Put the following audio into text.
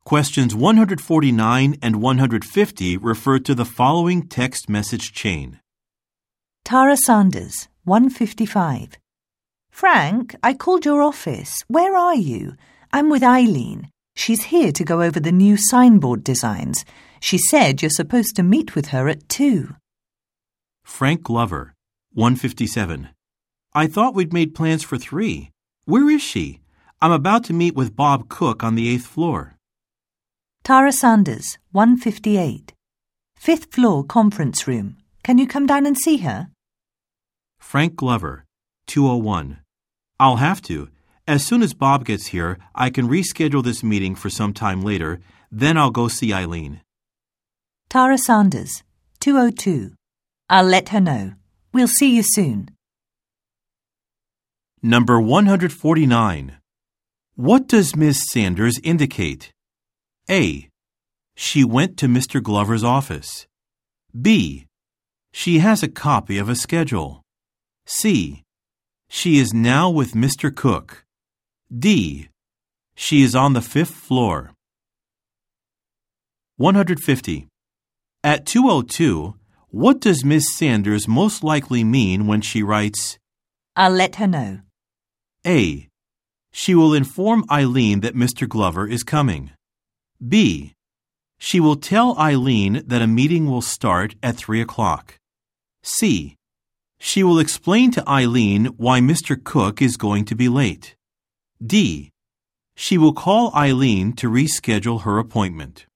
Questions 149 and 150 refer to the following text message chain. Tara Sanders, 155. Frank, I called your office. Where are you? I'm with Eileen. She's here to go over the new signboard designs. She said you're supposed to meet with her at 2. Frank Glover, 157. I thought we'd made plans for 3. Where is she? I'm about to meet with Bob Cook on the 8th floor. Tara Sanders, 158. 5th floor conference room. Can you come down and see her? Frank Glover, 201. I'll have to. As soon as Bob gets here, I can reschedule this meeting for some time later. Then I'll go see Eileen. Tara Sanders, 202. I'll let her know. We'll see you soon. Number 149. What does Ms. Sanders indicate? A. She went to Mr. Glover's office. B. She has a copy of a schedule. C. She is now with Mr. Cook. D. She is on the 5th floor. 150. At 2:02, what does Ms. Sanders most likely mean when she writes, I'll let her know? A. She will inform Eileen that Mr. Glover is coming. B. She will tell Eileen that a meeting will start at 3 o'clock. C. She will explain to Eileen why Mr. Cook is going to be late. D. She will call Eileen to reschedule her appointment.